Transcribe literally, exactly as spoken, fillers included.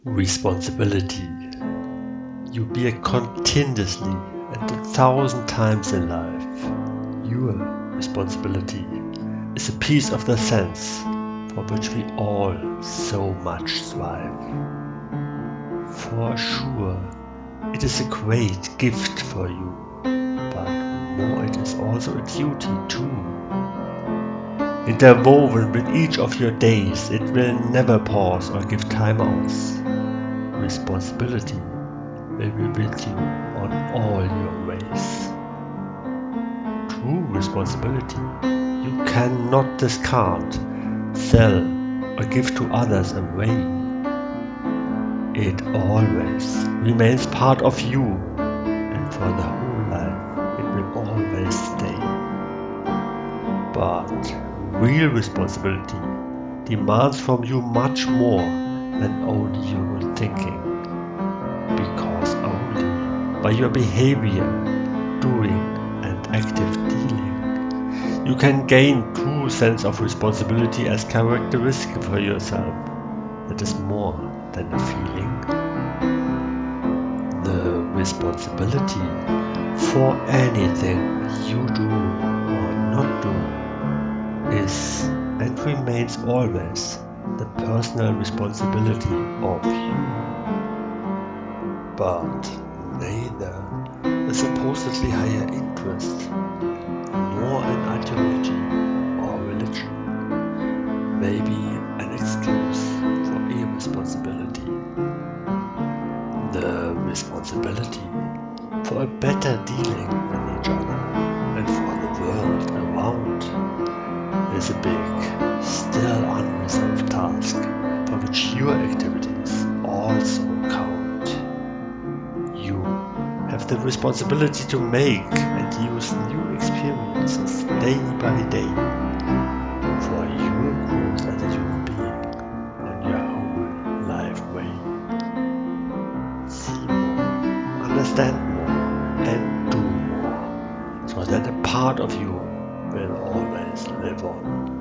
Responsibility. You bear continuously and a thousand times in life. Your responsibility is a piece of the sense for which we all so much strive. For sure, it is a great gift for you, but more it is also a duty too. Interwoven with each of your days, it will never pause or give time outs. Responsibility will be with you on all your ways. True responsibility you cannot discard, sell or give to others away. It always remains part of you, and for the whole life it will always stay. But real responsibility demands from you much more than only your thinking, because only by your behavior, doing and active dealing, you can gain true sense of responsibility as characteristic for yourself that is more than a feeling. The responsibility for anything you do or not do is and remains always the personal responsibility of you. But neither a supposedly higher interest nor an ideology or religion may be an excuse for irresponsibility. The responsibility for a better dealing with each other and for the world around is a big, still unresolved task for which your activities also count. You have the responsibility to make and use new experiences day by day for your growth as a human being on your whole life way. See more, understand more, and do more, so that a part of you will always live on.